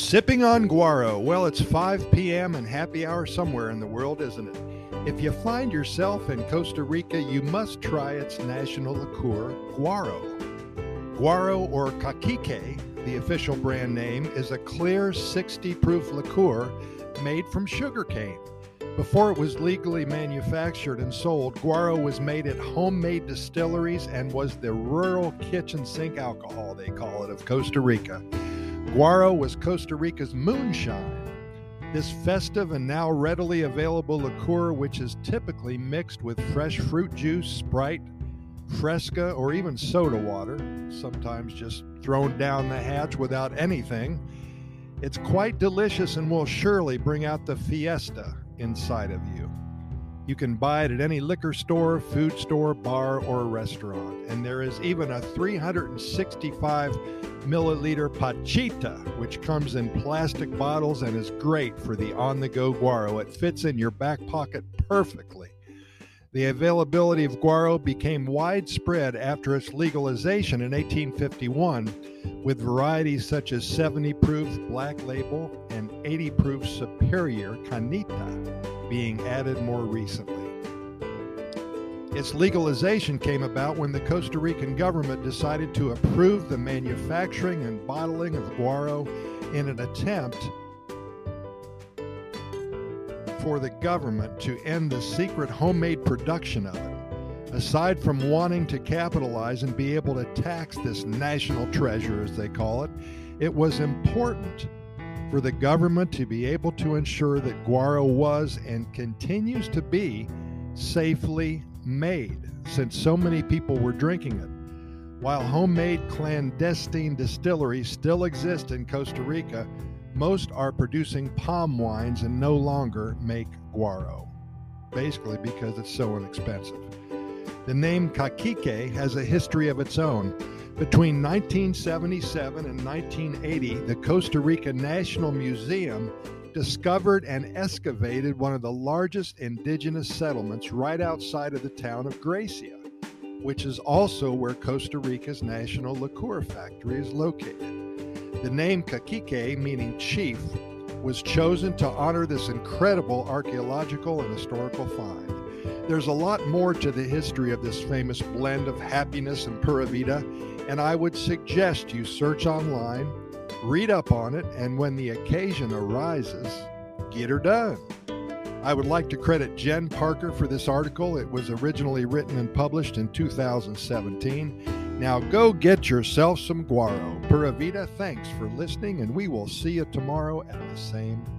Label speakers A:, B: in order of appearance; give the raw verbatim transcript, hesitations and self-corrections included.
A: Sipping on guaro. Well, it's five p.m. and happy hour somewhere in the world, isn't it? If you find yourself in Costa Rica, you must try its national liqueur, guaro. Guaro, or cacique, the official brand name, is a clear sixty proof liqueur made from sugarcane. Before it was legally manufactured and sold, guaro was made at homemade distilleries and was the rural kitchen sink alcohol, they call it, of Costa Rica. Guaro was Costa Rica's moonshine. This festive and now readily available liqueur, which is typically mixed with fresh fruit juice, Sprite, Fresca, or even soda water, sometimes just thrown down the hatch without anything. It's quite delicious and will surely bring out the fiesta inside of you. You can buy it at any liquor store, food store, bar, or restaurant. And there is even a three hundred sixty-five milliliter pachita, which comes in plastic bottles and is great for the on-the-go guaro. It fits in your back pocket perfectly. The availability of guaro became widespread after its legalization in eighteen fifty-one, with varieties such as seventy proof Black Label and eighty proof Superior Canita being added more recently. Its legalization came about when the Costa Rican government decided to approve the manufacturing and bottling of guaro in an attempt for the government to end the secret homemade production of it. Aside from wanting to capitalize and be able to tax this national treasure, as they call it, it was important for the government to be able to ensure that guaro was and continues to be safely made, since so many people were drinking it. While homemade clandestine distilleries still exist in Costa Rica, most are producing palm wines and no longer make guaro, basically because it's so inexpensive. The name cacique has a history of its own. Between nineteen seventy-seven and nineteen eighty, the Costa Rica National Museum discovered and excavated one of the largest indigenous settlements right outside of the town of Gracia, which is also where Costa Rica's national liqueur factory is located. The name cacique, meaning chief, was chosen to honor this incredible archaeological and historical find. There's a lot more to the history of this famous blend of happiness and pura vida, and I would suggest you search online, read up on it, and when the occasion arises, get her done. I would like to credit Jen Parker for this article. It was originally written and published in two thousand seventeen. Now go get yourself some guaro. Pura vida, thanks for listening, and we will see you tomorrow at the same